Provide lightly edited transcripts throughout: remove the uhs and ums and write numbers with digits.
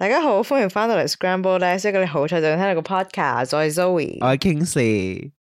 大家好，歡迎翻到嚟 Scrambled Eggs，一個你好彩就聽到個 podcast，我係 Zoe， 我係 Kingsley。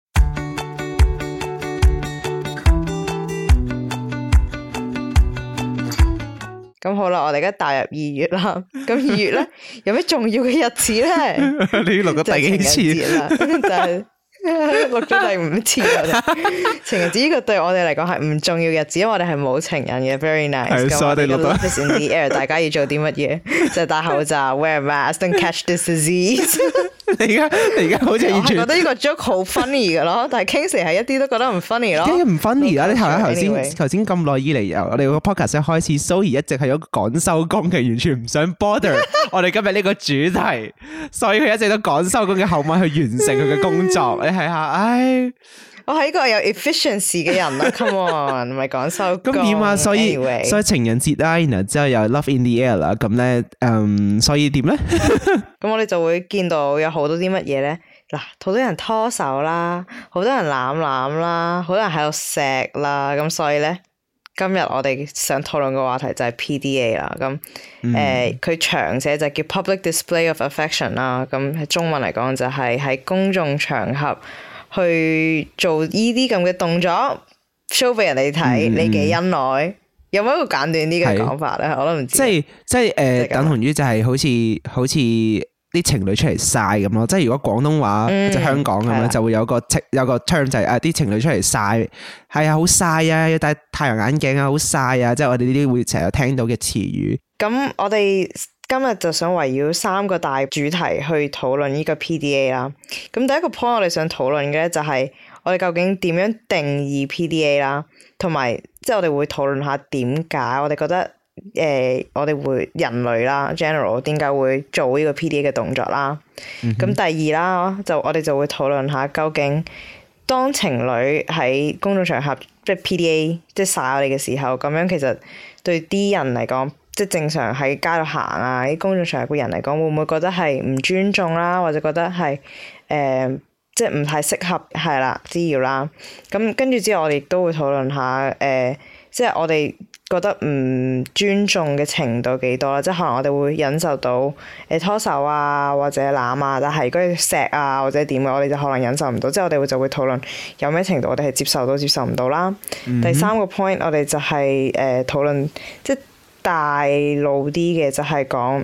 咁好啦，我哋而家踏入2月啦。咁2月咧有咩重要嘅日子咧？ 你錄咗第幾次啦？就係錄咗第5次啦。情人節呢個對我哋嚟講係唔重要日子，因為我哋係冇情人嘅。Very nice。 係，所以我哋錄咗。 Love is in the air， 大家要做啲乜嘢？就係戴口罩 ，wear mask，don't catch this disease。 你而家好似完全我覺得呢個 joke 好 funny 嘅咯，但係 Kingsley 係一啲都覺得唔 funny 咯。 梗係唔 funny 啦！你 Anyway 頭先咁耐以嚟，由我哋個 podcast 一開始 ，Zoe 一直係有趕收工嘅，完全唔想 bother 我哋今日呢個主題，所以佢一直都趕收工嘅後晚去完成佢嘅工作。你睇下，唉， 我係一個有 efficiency 嘅人啦，come on，唔係趕收工。 咁點啊？所以 Anyway 所以情人節啦，然後之後又 Love in the air 啦，咁咧，所以點咧？ 咁我哋就會見到有好多啲乜嘢咧，嗱，好多人拖手啦，好多人攬攬啦，好多人喺度錫啦，咁所以咧，今日我哋想討論嘅話題就係 PDA 啦，咁佢長寫就叫 Public Display of Affection 啦，咁喺中文嚟講就係喺公眾場合去做呢啲咁嘅動作 show 俾人哋睇你嘅恩愛。有冇一個簡短啲嘅講法咧？我都唔知。 即係等同於就係好似啲情侶出嚟晒咁咯。即係如果廣東話即係香港咁樣，就會有個 term 就係啲情侶出嚟晒，係啊，好晒啊，要戴太陽眼鏡啊，好晒啊，即係我哋呢啲會成日聽到嘅詞語。咁我哋今日就想圍繞3個大主題去討論呢個 PDA 啦。咁第一個 point 我哋想討論嘅咧就係我哋究竟點樣定義 PDA 啦，同埋即係我哋會討論下點解我哋覺得我哋會人類啦 general 點解會做呢個 PDA 嘅動作啦。咁第二啦，我哋就會討論下究竟當情侶喺公眾場合即係 PDA 即係晒我哋嘅時候，咁樣其實對啲人嚟講，即係正常喺街度行啊，啲公眾場合嘅人嚟講，會唔會覺得係唔尊重啦，或者覺得係即係唔太適合係啦滋擾啦。咁跟住之後，我哋亦都會討論下即係我哋覺得唔尊重嘅程度幾多啦。即係可能我哋會忍受到拖手啊，或者攬啊，但係如果錫啊或者點嘅，我哋就可能忍受唔到。即係我哋就會討論有咩程度我哋係接受到接受唔到啦。第3個 point 我哋就係討論即係大路啲嘅，就係講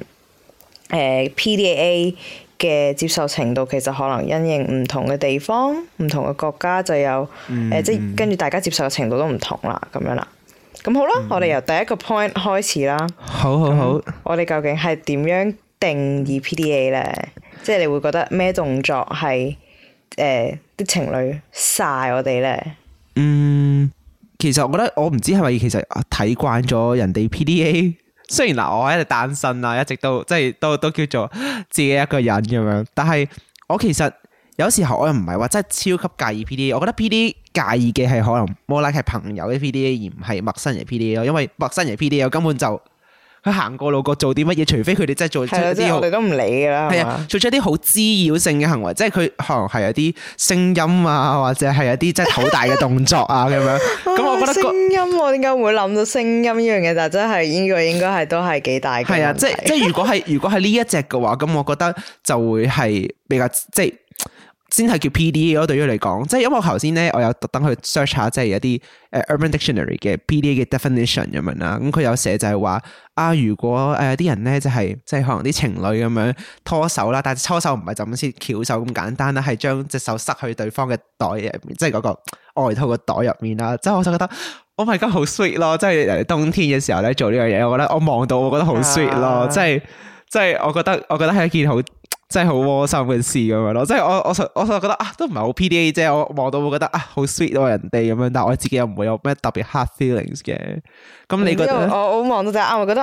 PDA 嘅接受程度其實可能因應唔同嘅地方、唔同嘅國家就有即係跟住大家接受嘅程度都唔同啦，咁樣啦。咁好啦，我哋由第一個 point 開始啦。 好。 我哋究竟係點樣定義 PDA 咧？即係你會覺得咩動作係啲情侶晒我哋咧？ 其實我覺得我唔知係咪其實睇慣咗人哋 PDA。雖然嗱，我一直單身啦，一直都即係都叫做自己一個人咁樣，但係我其實有時候我又唔係話真係超級介意 PDA。我覺得 PDA 介意嘅係可能 more like 係朋友嘅 PDA，而唔係陌生人 PDA 咯。因為陌生人 PDA 根本就佢行過路過做啲乜嘢，除非佢哋真係做出一啲我哋都唔理噶啦， 係啊，做出一啲好滋擾性嘅行為，即係佢可能係有啲聲音啊，或者係有啲真係好大嘅動作啊咁樣。咁我覺得聲音我點解會諗到聲音呢樣嘢？但係真係呢個應該係都係幾大嘅問題。 係啊，即係如果係呢一隻嘅話，咁我覺得就會係比較即係先係叫 PDA 咯。對於嚟講，即係因為我頭先咧，我有特登去 search 下，即係一啲Urban Dictionary 嘅 PDA 嘅 definition 咁樣啦。咁佢有寫就係話如果啲人咧就係即係可能啲情侶咁樣拖手啦，但係拖手唔係就咁先翹手咁簡單啦，係將隻手塞去對方嘅袋入面，即係嗰個外套嘅袋入面啦。即係我就覺得 Oh my God 好 sweet 咯！即係冬天嘅時候咧做呢樣嘢，我覺得我望到我覺得好 sweet 咯。即係我覺得係一件好真係好窩心嘅事咁樣咯，即係我就覺得都唔係好 PDA 啫，我望到會覺得好 sweet 咯人哋咁樣，但係我自己又唔會有咩特別 hard feelings 嘅。咁你覺得？我望到就啱，我覺得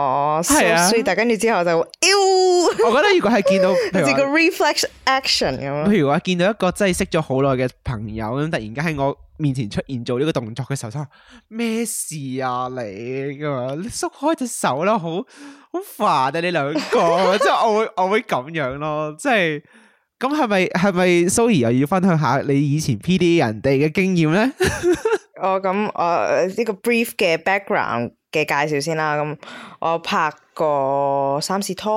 so sweet，但跟住之後就我覺得如果係見到好似個 reflex action 咁樣。 譬如話見到一個真係識咗好耐嘅朋友咁，突然間喺我面前出現做呢個動作嘅時候，就咩事啊你咁樣，你縮開隻手啦，好煩啊你兩個，即係我會咁樣咯，即係咁係咪 Zoe 又要分享下你以前 PDA 人哋嘅經驗咧？ 咁呢個 brief 嘅 background 嘅介紹先啦。咁我拍過3次拖，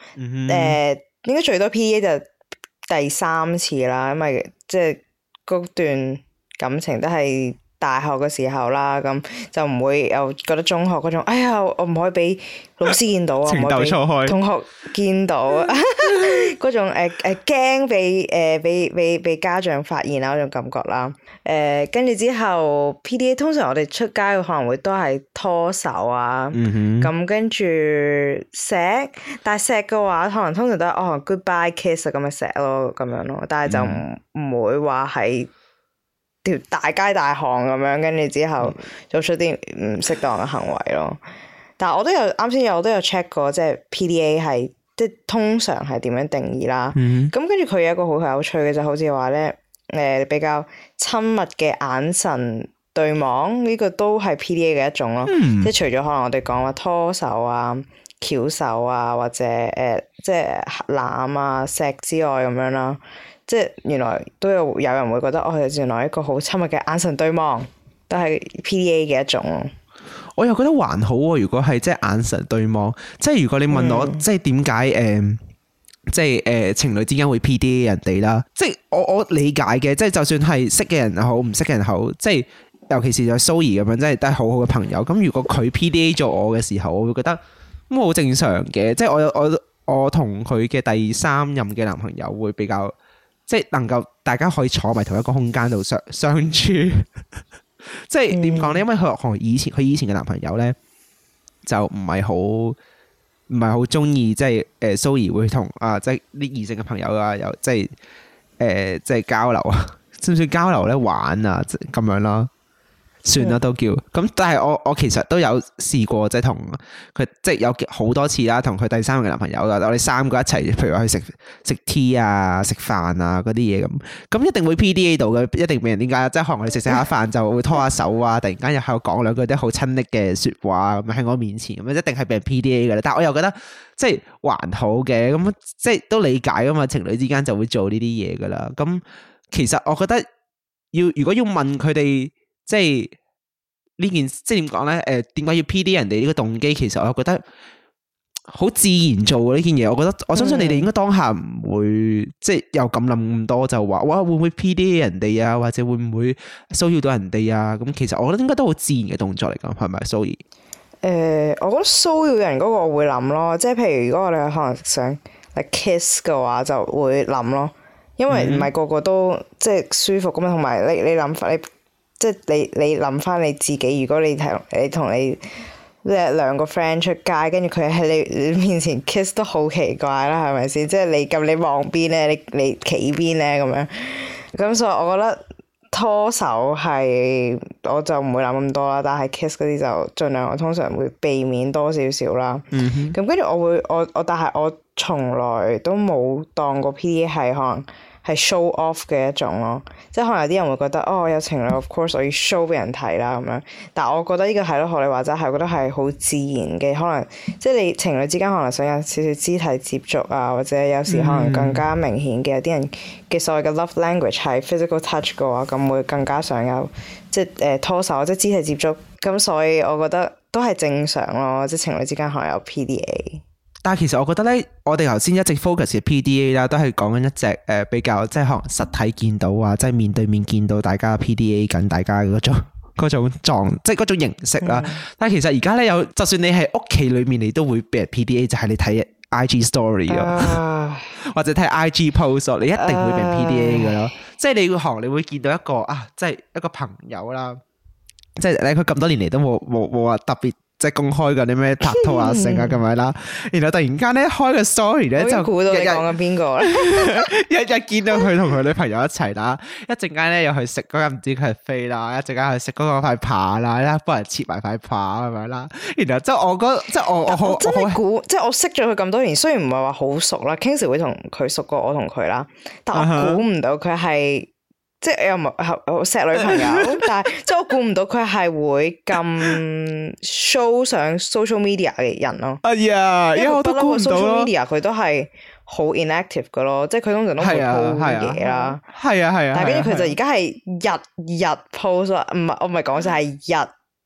應該最多 PDA 就第3次啦，因為即係嗰段感情都係大學嘅時候啦，咁就唔會又覺得中學嗰種，哎呀，我唔可以俾老師見到啊， 情竇初開， 同學見到嗰種驚俾家長發現啊嗰種感覺啦。跟住之後 PDA 通常我哋出街可能會都係拖手啊，咁跟住錫，但係錫嘅話可能通常都係goodbye kiss 咁嘅錫咯，咁樣咯，但係就唔會話係條大街大巷咁樣，跟住之後做出啲唔適當嘅行為咯。但係我都有啱先我都有 check 過，即係 PDA 係即係通常係點樣定義啦。咁跟住佢有一個好有趣嘅就好似話咧，比較親密嘅眼神對望，呢個都係 PDA 嘅一種咯。即係除咗可能我哋講話拖手啊、翹手啊，或者即係攬啊、錫之外咁樣啦。即係原來都有人會覺得原來一個好親密嘅眼神對望都係 PDA 嘅一種咯。 我又覺得還好喎，如果係即係眼神對望，即係如果你問我即係點解即係情侶之間會 PDA 人哋啦，即係我理解嘅，即係就算係識嘅人好，唔識嘅人好，即係尤其是就 Zoe 咁樣，即係都係好好嘅朋友。咁如果佢 PDA 咗我嘅時候，我會覺得咁好正常嘅，即係我同佢嘅第3任嘅男朋友會比較。即係能夠大家可以坐埋同一個空間度相處，即係點講咧？因為佢以前嘅男朋友咧就唔係好中意，即係Zoe 會同即係啲異性嘅朋友啊，有即係交流啊，算唔算交流咧？玩啊咁樣啦。算啦都叫咁，但係我其實都有試過，即係同佢即係有好多次啦，同佢第3個嘅男朋友啦，我哋3個一齊，譬如話去食 tea 啊、食飯啊嗰啲嘢咁一定會 PDA 到嘅，一定俾人點解？即係可能我哋食下飯就會拖下手啊，突然間又喺度講兩句啲好親昵嘅説話咁喺我面前咁，一定係俾人 PDA 嘅啦。但係我又覺得即係還好嘅，咁即係都理解噶嘛，情侶之間就會做呢啲嘢噶啦。咁其實我覺得如果要問佢哋。即係呢件，即係點講咧？點解要 PD 人哋呢個動機？其實我覺得好自然做嘅呢件嘢。我覺得我相信你哋應該當下唔會即係又咁諗咁多，就話哇會唔會 PD 人哋啊？或者會唔會騷擾到人哋啊？咁其實我覺得應該都好自然嘅動作嚟㗎，係咪？Zoe？ 我覺得騷擾人嗰個我會諗咯，即係譬如如果我哋可能想 kiss 嘅話，就會諗咯，因為唔係個個都即係舒服咁樣，同埋你諗法你。即係你諗翻你自己，如果你同你兩個 friend 出街，跟住佢喺你面前 kiss 都好奇怪啦，係咪先？即係你望邊咧？你企邊咧？咁樣咁，所以我覺得拖手係我就唔會諗咁多啦，但係 kiss 嗰啲就盡量我通常會避免多少少啦。咁跟住但係我從來都冇當過 PDA 係可能。係 show off 嘅一種咯，即係可能有啲人會覺得我有情侶 of course 我要 show 俾人睇啦咁樣，但係我覺得呢個係咯，學你話齋係，我覺得係好自然嘅，可能即係你情侶之間可能想有少少肢體接觸啊，或者有時可能更加明顯嘅，有啲人嘅所謂嘅 love language 係 physical touch 嘅話，咁會更加想有即係拖手即係肢體接觸，咁所以我覺得都係正常咯，即係情侶之間可能有 PDA。 但係其實我覺得咧，我哋頭先一直 focus 嘅 PDA 啦，都係講緊一隻比較即係可能實體見到啊，即係面對面見到大家 PDA 緊大家嗰種狀，即係嗰種形式啦。但係其實而家咧有，就算你喺屋企裏面，你都會俾人 PDA，就係你睇 IG story 咯，或者睇 IG post，你一定會俾人 PDA 嘅咯。即係你會見到一個即係一個朋友啦，即係咧佢咁多年嚟都冇話特別。即係公開嗰啲咩拍拖啊、性啊咁樣啦，然後突然間咧開個 story 咧就估到你講緊邊個啦， 日見到佢同佢女朋友一齊啦，一陣間咧又去食嗰個唔知佢係飛啦，一陣間去食嗰個塊扒啦，幫人切埋塊扒咁樣啦，然後即係我覺即係我好真係估，即係我識咗佢咁多年，雖然唔係話好熟啦，Kingsley 會同佢熟過我同佢啦，但我估唔到佢係。即係又唔係好錫女朋友，但係即係我估唔到佢係會咁 show 上 social media 嘅人咯。 呀，因為我都估唔到 social media 佢都係好 inactive 嘅咯，即係佢通常都會 po 嘢啦。 係啊。 但係跟住佢就而家係日 post 唔係我唔係講就係日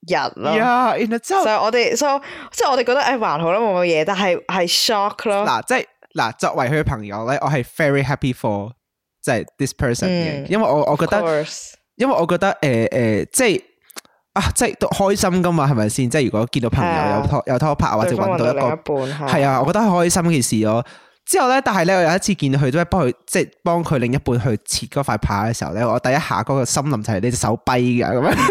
日咯。 然後之後所以我哋即係我哋覺得還好啦，冇乜嘢，但係 shock 咯。 嗱，即係嗱，作為佢嘅朋友咧，我係 very happy for 即係 this person 嘅，因為我覺得，因為我覺得即係即係都開心噶嘛，係咪先？即係如果見到朋友有拖拍或者揾到一個係啊，我覺得係開心嘅事咯。之後咧，但係咧，我有一次見到佢都係幫佢另一半去切嗰塊扒嘅時候咧，我第一下嗰個心諗就係你隻手跛㗎咁樣。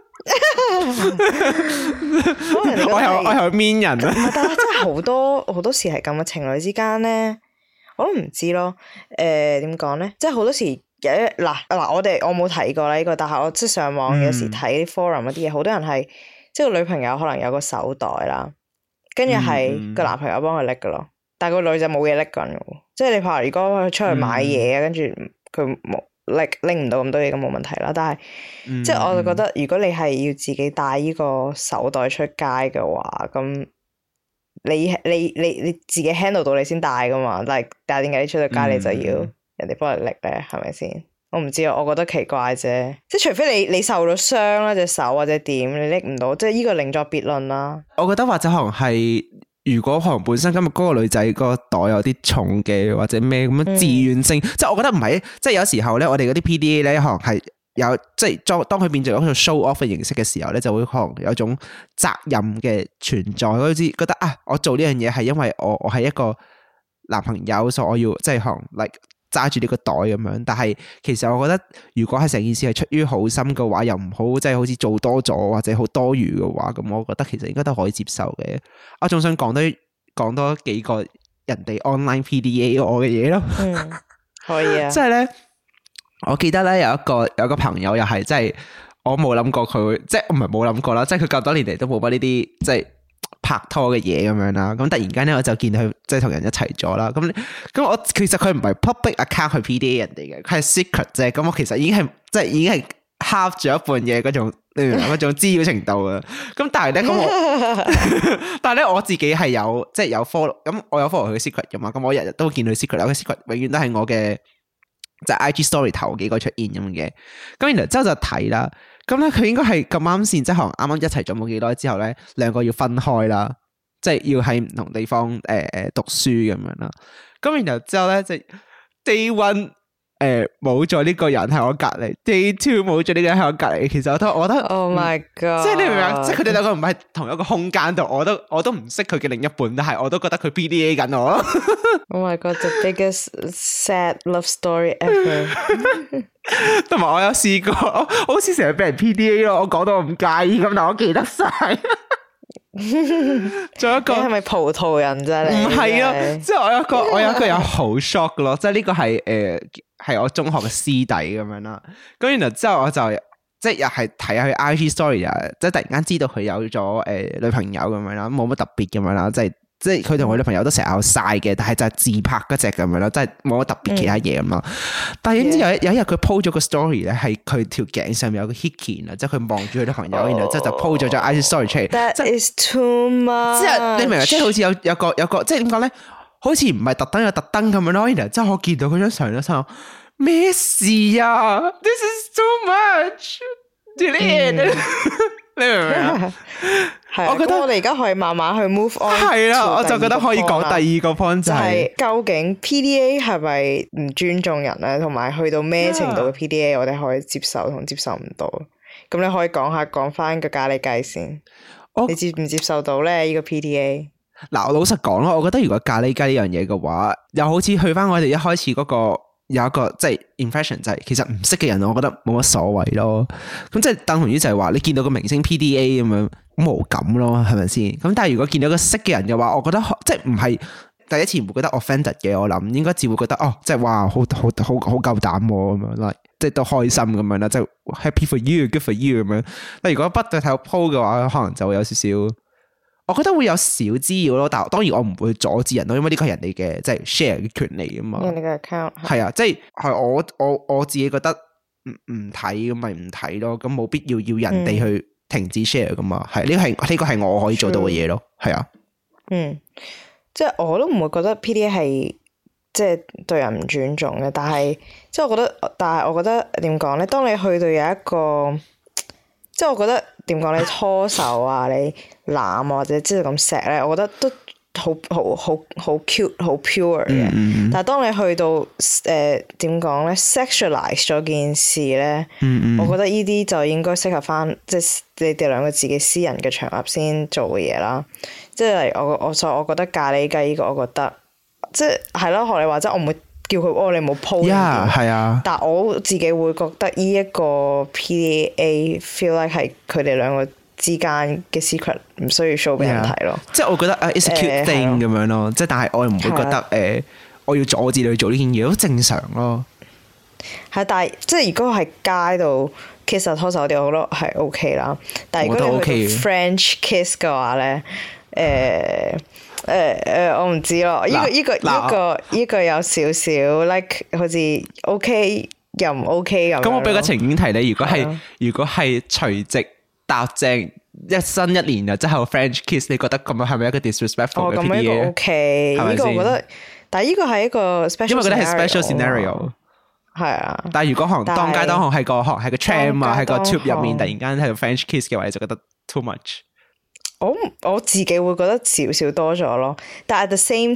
我係面人啊！ 但係真係好多時係咁嘅，情侶之間咧，我都唔知咯。點講咧？即係好多時有嗱，我冇睇過啦呢個，但係我即係上網有時睇啲 forum 嗰啲嘢，好多人係即係個女朋友可能有個手袋啦，跟住係個男朋友幫佢拎噶咯。但係個女仔冇嘢拎緊嘅，即係你怕如果佢出去買嘢跟住佢冇拎唔到咁多嘢，咁冇問題啦。但係即係我就覺得，如果你係要自己帶呢個手袋出街嘅話，咁你自己 handle 到你先帶噶嘛。但係點解你出到街你就要人哋幫你拎咧？係咪先？我唔知啊，我覺得奇怪啫。即係除非你受咗傷啦隻手或者點，你拎唔到，即係呢個另作別論啦。 我覺得或者可能係。如果可能本身今日嗰個女仔個袋有啲重嘅或者咩咁樣自願性，即係我覺得唔係，即係有時候咧，我哋嗰啲 PDA 咧可能係有即係當佢變做一個 show off 嘅形式嘅時候咧，就會可能有種責任嘅存在，好似覺得我做呢樣嘢係因為我係一個男朋友，所以我要即係可能 like 揸住呢個袋咁樣。但係其實我覺得如果係成件事係出於好心嘅話，又唔好即係好似做多咗或者好多餘嘅話，咁我覺得其實應該都可以接受嘅。我仲想講多幾個人哋 online PDA 我嘅嘢咯。 可以啊。 即係咧，我記得咧有一個朋友又係即係我冇諗過佢會，即係唔係冇諗過啦，即係佢咁多年嚟都冇乜呢啲即係拍拖嘅嘢咁樣啦，咁突然間咧我就見佢即係同人一齊咗啦，咁我其實佢唔係 public account 去 PDA 人哋嘅，佢係 secret 啫，咁我其實已經係 half 咗一半嘅嗰種嗰種滋擾程度啊，咁但係咧我自己係有即係有 follow， 咁我有 follow 佢嘅 secret 噶嘛，咁我日日都見佢 secret， 有 secret 永遠都係我嘅即係 IG story 頭幾個出現咁嘅，咁然後之後就睇啦。咁咧，佢應該係咁啱先，即係可能啱啱一齊咗冇幾耐之後咧，兩個要分開啦，即係要喺唔同地方讀書咁樣啦。咁然後之後咧，即係 day one 冇咗呢個人喺我隔離 ，day two 冇咗呢個人喺我隔離。其實我覺得 ，Oh my God！ 即係你明唔明？即係佢哋兩個唔係同一個空間度，我都唔識佢嘅另一半，但係我都覺得佢 PDA 緊我咯。 Oh my God！The biggest sad love story ever。 同埋我有試過，我好似成日俾人 PDA 咯，我講到我唔介意咁，但我記得晒。仲有一個係咪葡萄人啫？你唔係啊，即係我有一個有好 shock 嘅咯，即係呢個係我中學嘅師弟咁樣啦。咁然後之後我就即係又係睇下佢 IG story 啊，即係突然間知道佢有咗女朋友咁樣啦，冇乜特別咁樣啦，即係佢同佢女朋友都成日有晒嘅，但係就係自拍嗰隻咁樣咯，即係冇乜特別其他嘢咁咯。但係點知有一日佢 po 咗個 story 咧，係佢條頸上面有個 hickey 啊，即係佢望住佢女朋友，然後之後就 po 咗張 IG story 出嚟。 That is too much。 即係你明唔明？即係好似有個即係點講咧？好似唔係特登有特登咁樣咯。然後之後我見到嗰張相咧，心諗咩事啊 ？This is too much。Delete。你明唔明啊？ 我覺得我哋而家可以慢慢去 move on。 係啦，我就覺得可以講第二個 point 就係究竟 PDA 係咪唔尊重人咧？同埋去到咩程度嘅 PDA 我哋可以接受同接受唔到？咁你可以講翻個咖喱雞先。你接唔接受到咧？呢個 PDA？ 嗱，我老實講咯，我覺得如果咖喱雞呢樣嘢嘅話，又好似去翻我哋一開始嗰個。有一個即係 impression 就係其實唔識嘅人，我覺得冇乜所謂咯。咁即係等同於就係話你見到個明星 PDA 咁樣好無感咯，係咪先？咁但係如果見到個識嘅人嘅話，我覺得即係唔係第一次唔會覺得 offended 嘅。我諗應該只會覺得即係哇好夠膽咁樣，即係都開心咁樣啦，即係 happy for you，good for you 咁樣。但如果不對睇個 po 嘅話，可能就會有少少。我覺得會有少滋擾咯，但係當然我唔會阻止人咯，因為呢個係人哋嘅即係 share 嘅權利啊嘛。 人哋嘅 account 係啊，即係我自己覺得唔睇咁咪唔睇咯，咁冇必要人哋去停止 share 噶嘛。係呢個係我可以做到嘅嘢咯。係啊， 即係我都唔會覺得 PDA 係即係對人唔尊重嘅，但係我覺得點講咧？當你去到有一個即係我覺得點講你拖手啊，你攬啊或者即係咁錫咧，我覺得都好 cute 好 pure 嘅。但係當你去到點講咧 sexualize 咗件事咧，我覺得呢啲就應該適合翻即係你哋兩個自己私人嘅場合先做嘅嘢啦。即係例如我覺得咖喱雞呢個，我覺得即係咯，學你話齋，我唔會叫佢你冇 po 呢啲。 係啊。 但我自己會覺得呢一個 PDA feel like 係佢哋兩個之間嘅 secret 唔需要 show 俾人睇咯。 即係我覺得it's a cute thing 咁樣咯。即係但係我又唔會覺得我要阻止你去做呢件嘢，都正常咯。 係，但係即係如果係街度 kiss 啊拖手啲，我覺得係 OK 啦。但係如果你去到 French kiss 嘅話咧，我唔知咯。呢個有少少 like 好似 OK 又唔 OK 咁。 咁我俾個情景題你，如果係除夕搭正一新一年啊，之後 French kiss， 你覺得咁樣係咪一個 disrespectful 嘅 PDA？ 咁呢個 OK，呢個我覺得，但係呢個係一個 special， 因為覺得係 special scenario。 係啊。 但係如果可能當街當巷喺個tram 啊，喺個 tube 入面突然間喺度 French kiss 嘅話，你就覺得 too much。 我自己會覺得少少多咗咯，但係 at the same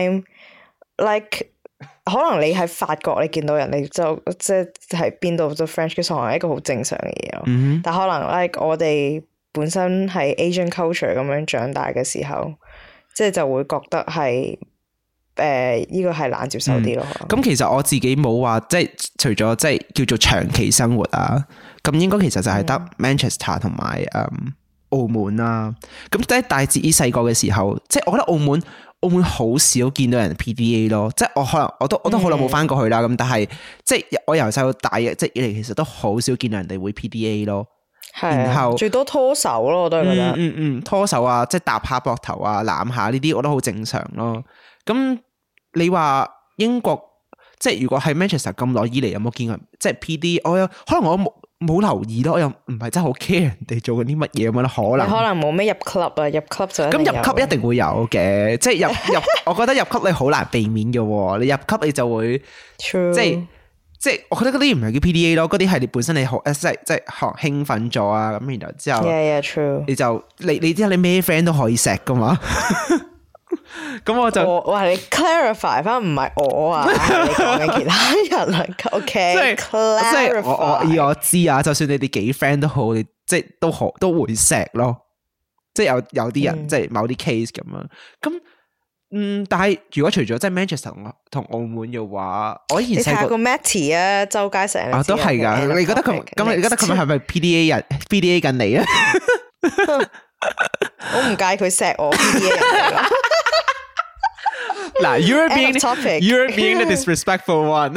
time，like 可能你喺法國你見到人你就即係喺邊度做 French kiss 可能係一個好正常嘅嘢咯。但可能 like 我哋本身係 Asian culture 咁樣長大嘅時候，即係就會覺得係呢個係難接受啲咯。 咁其實我自己冇話即係除咗即係叫做長期生活啊，咁應該其實就係得 Manchester 同埋澳門啦。咁即係大致於細個嘅時候，即係我覺得澳門好少見到人 PDA 咯。即係我可能我都好耐冇翻過去啦。咁但係即係我由細到大即係以嚟，其實都好少見到人哋會 PDA 咯。然後最多拖手咯，我都係覺得。 拖手啊，即係搭下膊頭啊，攬下呢啲，我都好正常咯。咁你話英國即係如果係 Manchester 咁耐以嚟有冇見過即係 PDA？ 可能我冇留意咯，我又唔係真係好 care 人哋做緊啲乜嘢咁樣啦。可能冇咩入 club 啊，入 club 就咁入 club 一定會有嘅，即係入我覺得入 club 你好難避免嘅喎，你入 club 你就會 True. 即係我覺得嗰啲唔係叫 PDA 咯，嗰啲係你本身你好即係興奮咗啊，咁然後之後 true. 你就你之後你咩 friend 都可以錫噶嘛。咁我就哇你 clarify 翻唔係我啊，係你講緊其他人啊。OK， 即係我知啊，就算你哋幾 friend 都好，你即係都會錫咯。即係有啲人即係某啲 case 咁樣。咁但係如果除咗即係 Manchester 同澳門嘅話，我以前細個你睇個 Matty 啊，周街成日都係噶。你覺得咁你覺得佢係咪 PDA 緊你啊？ 我唔介意佢錫我 PDA 人嚟咯。 嗱，you're being the disrespectful one。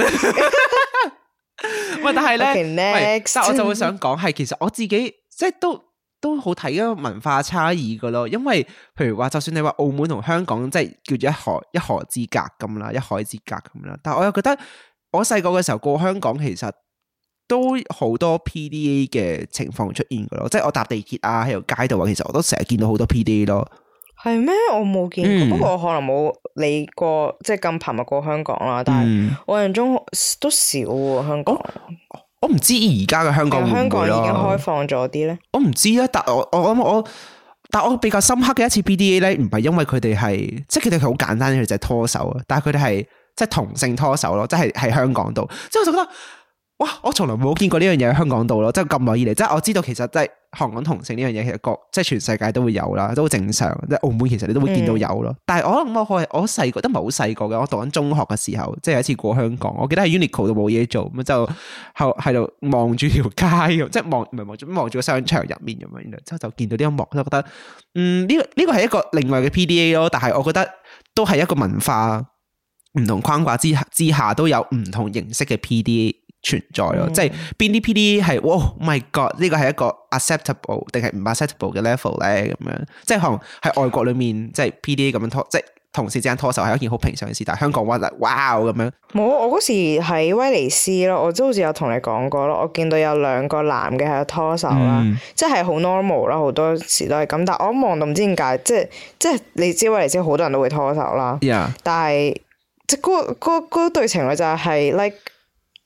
喂，但係咧，但我就會想講係，其實我自己即係都好睇一個文化差異噶咯。因為譬如話，就算你話澳門同香港即係叫做一河之隔咁啦，一海之隔咁啦，但係我又覺得我細個嘅時候過香港，其實都好多 PDA 嘅情況出現噶咯。即係我搭地鐵啊，喺條街度啊，其實我都成日見到好多 PDA 咯。 係咩？我冇見過，不過我可能冇理過，即係咁頻密過香港啦。但係我印象中都少喎，香港。 我唔知而家嘅香港會唔會香港已經開放咗啲咧。 我唔知啊，但我比較深刻嘅一次 PDA 咧，唔係因為佢哋係，即係佢哋好簡單嘅就係拖手啊，但係佢哋係即係同性拖手咯，即係喺香港度，即係我就覺得。哇！我從來冇見過呢樣嘢喺香港度咯，即係咁耐以嚟，即係我知道其實即係香港同性呢樣嘢，其實即係全世界都會有啦，都好正常。即係澳門其實你都會見到有咯。但係我細個都唔係好細個嘅，我讀緊中學嘅時候，即係有一次過香港，我記得喺 Uniqlo 度冇嘢做，咁就喺度望住條街，即係望住個商場入面咁樣，然之後就見到呢一幕，就覺得呢個係一個另外嘅 PDA 咯。但係我覺得都係一個文化唔同框架之下都有唔同形式嘅 PDA。存在咯，即係邊啲 PDA 係，Oh my God， 呢個係一個 acceptable 定係唔 acceptable 嘅 level 咧？咁樣，即係可能喺外國裏面，即係 PDA 咁樣拖，即係同事之間拖手係一件好平常嘅事，但係香港話哇咁樣。 冇，我嗰時喺威尼斯咯，我都好似有同你講過咯，我見到有兩個男嘅喺度拖手啦，即係好 normal 啦，好多時都係咁，但係我一望到唔知點解，即係你知威尼斯好多人都會拖手啦，但係即係嗰對情侶就係 like。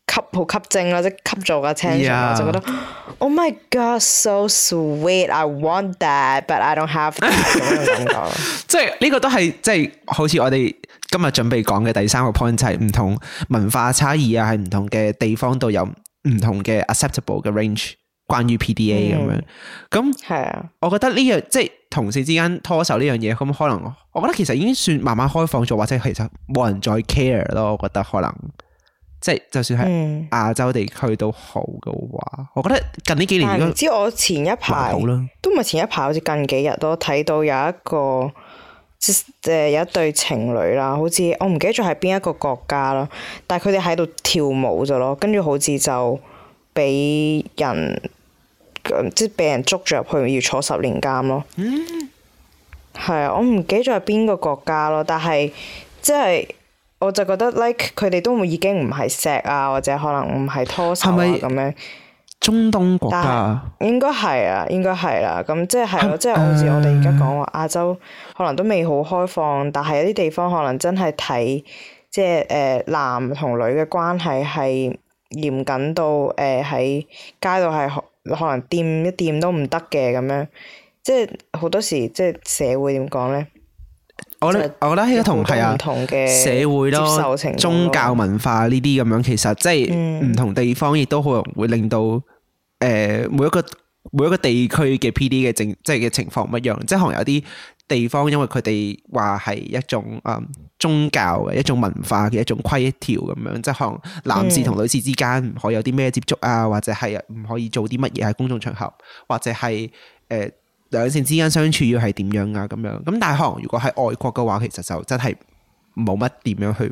好吸睛啦，即係吸咗個 attention， 我就覺得 Oh my God so sweet I want that but I don't have that 咁樣感覺。 即係呢個都係即係好似我哋今日準備講嘅第三個 point 就係唔同文化差異啊，喺唔同嘅地方度有唔同嘅 acceptable 嘅 range。關於 PDA 咁樣，咁係啊， 我覺得呢樣即係同事之間拖手呢樣嘢，咁可能我覺得其實已經算慢慢開放咗，或者其實冇人再 care 咯。我覺得可能即係就算係亞洲地區都好嘅話，我覺得近呢幾年唔知我前一排都唔係前一排，好似近幾日都睇到有一個有一對情侶啦，好似我唔記得咗係邊一個國家啦，但係佢哋喺度跳舞咗咯，跟住好似就俾人。即係俾人捉咗入去，要坐10年監咯。係啊，我唔記得咗係邊個國家咯，但係即係我就覺得 like 佢哋都已經唔係錫啊，或者可能唔係拖手啊咁樣。 中東國家應該係啊，應該係啦。咁即係係咯，即係好似我哋而家講話亞洲可能都未好開放，但係有啲地方可能真係睇即係男同女嘅關係係嚴謹到喺街度係。可能掂一掂都唔得嘅咁樣，即係好多時即係社會點講咧？ 我覺得呢個同係啊，社會咯、宗教文化呢啲咁樣，其實即係唔同地方亦都可能會令到每一個地區嘅 PD 嘅即係嘅情況唔一樣，即係可能有啲地方因為佢哋話係一種宗教嘅一種文化嘅一種規條咁樣，即係可能男士同女士之間唔可以有啲咩接觸啊，或者係唔可以做啲乜嘢喺公眾場合，或者係兩性之間相處要係點樣啊咁樣。咁但係可能如果喺外國嘅話，其實就真係冇乜點樣去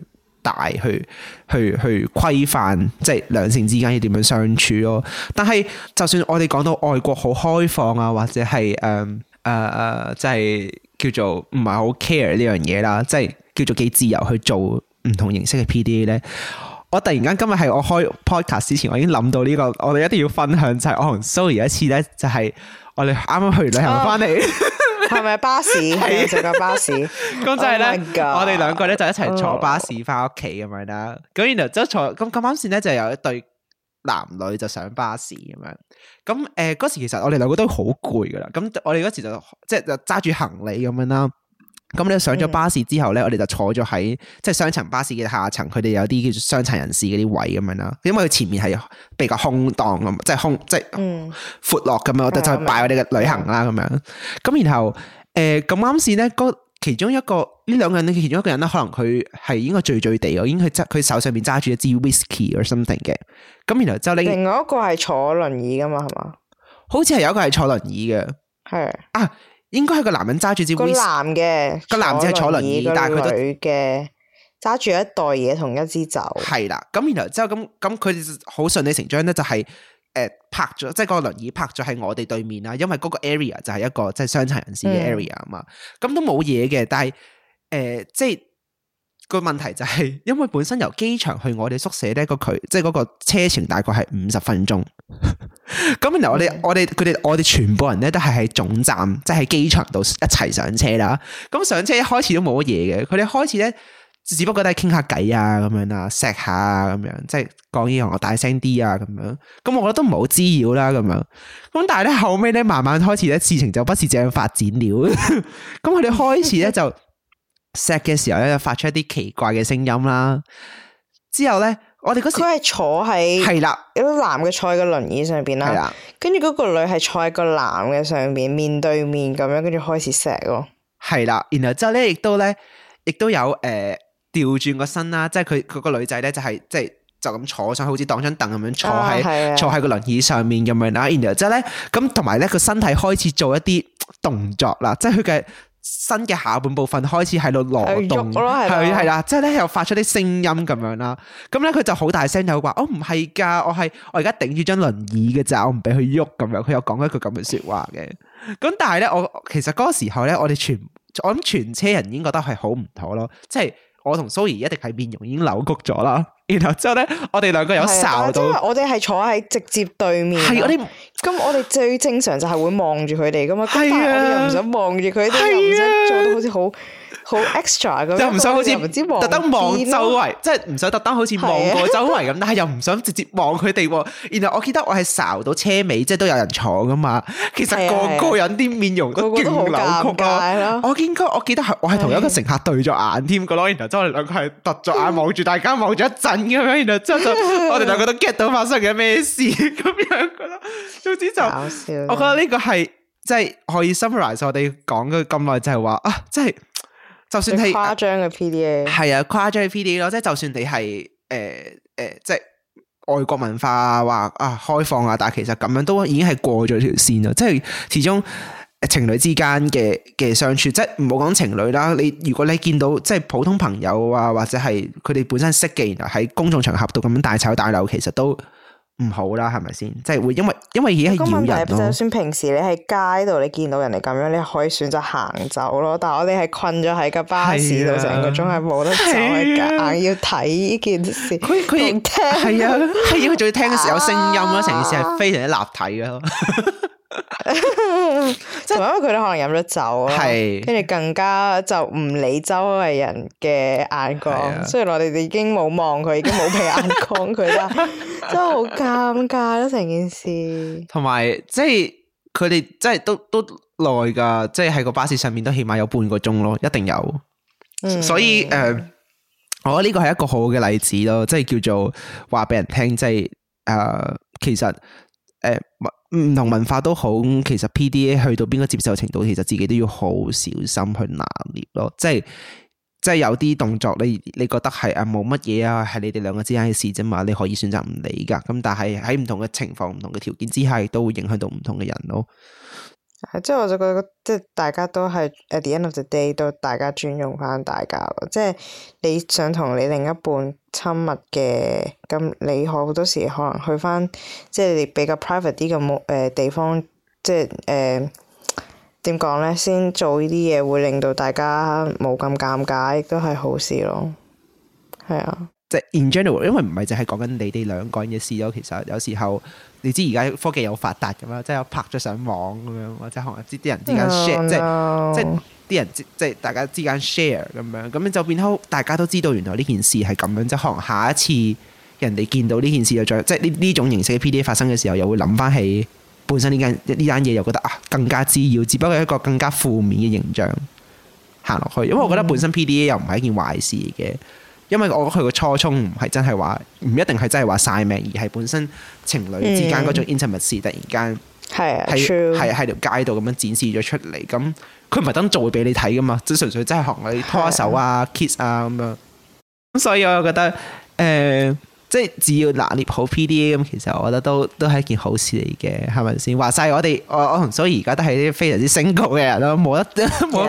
去規範，即係兩性之間要點樣相處咯。但係就算我哋講到外國好開放啊，或者係即係叫做唔係好 care 呢樣嘢啦，即係叫做幾自由去做唔同形式嘅 PDA 咧。我突然間今日係我開 podcast 之前，我已經諗到呢個，我哋一定要分享就係我同 Zoe 有一次咧，就係我哋啱啱去旅行翻嚟， 係咪巴士？係坐架巴士。 咁就係咧，我哋兩個咧就一齊坐巴士翻屋企咁樣啦。咁然後即係坐咁啱先咧，就有一對男女就上巴士咁樣。咁嗰時其實我哋兩個都好攰噶啦。咁我哋嗰時就即係就揸住行李咁樣啦。咁你上咗巴士之後咧，我哋就坐咗喺即係雙層巴士嘅下層，佢哋有啲叫做傷殘人士嗰啲位咁樣啦。因為佢前面係比較空檔咁，即係即係闊落咁樣，我哋就擺我哋嘅旅行啦咁樣。咁然後咁啱先咧，其中一個呢兩個人咧，其中一個人咧，可能佢係應該醉醉地，已經佢手上面揸住一支 whisky or something 嘅。咁然後就另外一個係坐輪椅噶嘛，係嘛？好似係有一個係坐輪椅嘅，係啊。應該係個男人揸住支 whisky，個男仔係坐輪椅，但係佢女嘅揸住一袋嘢同一支酒。 係啦，咁然後之後咁佢哋好順理成章咧，就係泊咗，即係個輪椅泊咗喺我哋對面啦。因為嗰個 area 就係一個即係傷殘人士嘅 area 啊嘛，咁都冇嘢嘅。但係即係個問題就係，因為本身由機場去我哋宿舍咧即係嗰個車程大概係50分鐘。咁然後我哋全部人咧都係喺總站，即係喺機場度一齊上車啦。咁上車一開始都冇乜嘢嘅，佢哋開始咧只不過都係傾下偈啊咁樣啦，錫下啊咁樣，即係講嘢我大聲啲啊咁樣。咁我覺得都唔係好滋擾啦咁樣。咁但係咧後尾咧慢慢開始咧事情就不是這樣發展了。咁佢哋開始咧就錫嘅時候咧就發出一啲奇怪嘅聲音啦。之後咧。我哋嗰時佢係坐喺係啦， 有個男嘅坐喺個輪椅上邊啦，跟住嗰個女係坐喺個男嘅上邊，面對面咁樣，跟住開始錫咯。係啦，然後之後咧，亦都有調轉個身啦，即係佢嗰個女仔咧就係即係就咁坐上，好似當張凳咁樣坐喺個輪椅上面咁樣啦。然後之後咧，咁同埋咧個身體開始做一啲動作啦，即係佢嘅。身嘅下半部分開始喺度挪動，係啦，即係咧又發出啲聲音咁樣啦。咁咧佢就好大聲就話：，唔係噶，我而家頂住張輪椅嘅咋，我唔俾佢喐咁樣。佢有講一句咁嘅說話嘅。咁但係咧，其實嗰個時候咧，我諗全車人已經覺得係好唔妥咯。即係我同 Zoe 一定係面容已經扭曲咗啦。然後之後咧，我哋兩個有睄到， 我哋係坐喺直接對面。係我哋最正常就係會望住佢哋噶嘛。但係我哋又唔想望住佢哋，又唔想做到好似好 extra 咁樣， 又唔想好似又唔知望特登望邊咯周圍，即係唔想特登好似望過周圍咁，但係又唔想直接望佢哋喎。然後我記得我係睄到車尾，即係都有人坐噶嘛。其實個個人啲面容都勁扭曲咯。我記得係我係同一個乘客對咗眼添噶咯。然後之後我哋兩個係突咗眼望住大家望咗一陣咁樣，然後之後就我哋兩個都 get 到發生緊咩事咁樣噶咯。總之就我覺得呢個係即係可以 summarize 我哋講咗咁耐，就係話啊，即係就算係誇張嘅 PDA， 係啊，誇張嘅 PDA 咯，即係就算你係即係外國文化話啊開放啊，但係其實咁樣都已經係過咗條線咯。即係始終情侶之間嘅相處，即係唔好講情侶啦。如果你見到即係普通朋友啊，或者係佢哋本身識嘅，然後喺公眾場合度咁樣大吵大鬧，其實都唔好啦，係咪先？即係會因為而家係擾人咯。 就算平時你喺街度，你見到人哋咁樣，你可以選擇行走咯。但係我哋係困咗喺個巴士度成個鐘，係冇得走，係硬要睇呢件事。 佢聽係啊，係佢仲要聽嘅時候有聲音咯，成件事係非常之立體嘅咯。 同埋因為佢哋可能飲咗酒啦，跟住更加就唔理周圍人嘅眼光。雖然我哋已經冇望佢，已經冇俾眼光佢啦，真係好尷尬咯成件事。同埋即係佢哋即係都耐㗎，即係喺個巴士上面都起碼有半個鐘咯，一定有。所以我覺得呢個係一個好嘅例子咯，即係叫做話俾人聽，即係其實唔同文化都好，其實 PDA 去到邊個接受程度，其實自己都要好小心去拿捏咯。即係有啲動作你覺得係冇乜嘢啊，係你哋兩個之間嘅事啫嘛，你可以選擇唔理噶。咁但係喺唔同嘅情況、唔同嘅條件之下，亦都會影響到唔同嘅人咯。 即係我就覺得，即係大家都係 at the end of the day 都大家尊重翻大家咯。即係你想同你另一半親密嘅，咁你好多時可能去翻即係你比較 private 啲嘅地方，即係點講咧，先做呢啲嘢會令到大家冇咁尷尬，亦都係好事咯。係啊。 即係 in general， 因為唔係淨係講緊你哋兩個人嘅事咯。其實有時候你知而家科技有發達咁啦，即係拍咗上網咁樣，或者可能啲人之間 share， 即係啲人即係大家之間 share 咁樣，咁就變好大家都知道原來呢件事係咁樣，即係可能下一次人哋見到呢件事又再即係呢種形式嘅 PDA 發生嘅時候，又會諗翻起本身呢單嘢，又覺得啊更加滋擾，只不過係一個更加負面嘅形象行落去。因為我覺得本身 PDA 又唔係一件壞事嘅。因為我覺得佢個初衷唔係真係話，唔一定係真係話晒命，而係本身情侶之間嗰種 intimacy 突然間喺條街度咁樣展示咗出嚟，咁佢唔係等做俾你睇噶嘛，即係純粹真係學你拖手啊、kiss 啊咁樣。咁所以我覺得即係只要拿捏好 PDA 咁，其實我覺得都係一件好事嚟嘅，係咪先？話晒我同所以而家都係啲非常之 single 嘅人咯，冇得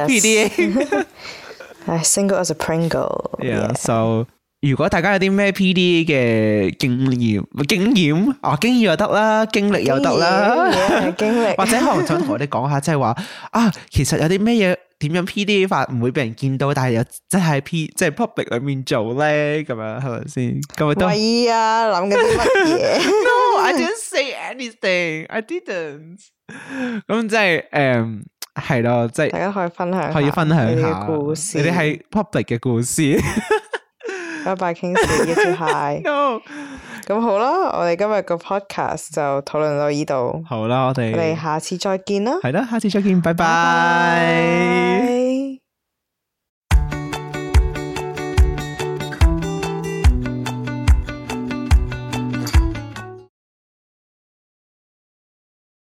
PDA。 single as a Pringle。 So 如果大家有啲咩 PDA 嘅經驗又得啦，經歷又得啦， 經歷或者可能想同我哋講下，即係話啊，其實有啲咩嘢點樣 PDA 法唔會俾人見到，但係又真係即係 public 裏面做咧，咁樣係咪先？咁咪都喂啊，諗緊啲乜嘢 ？No, I didn't say anything. I didn't。咁即係係咯，即係大家可以分享下故事， 你哋係 public 嘅故事。 拜拜，Kingsley，get too high。咁好啦，我哋今日個 podcast 就討論到呢度。 好啦，我哋下次再見啦。 係啦，下次再見，拜拜。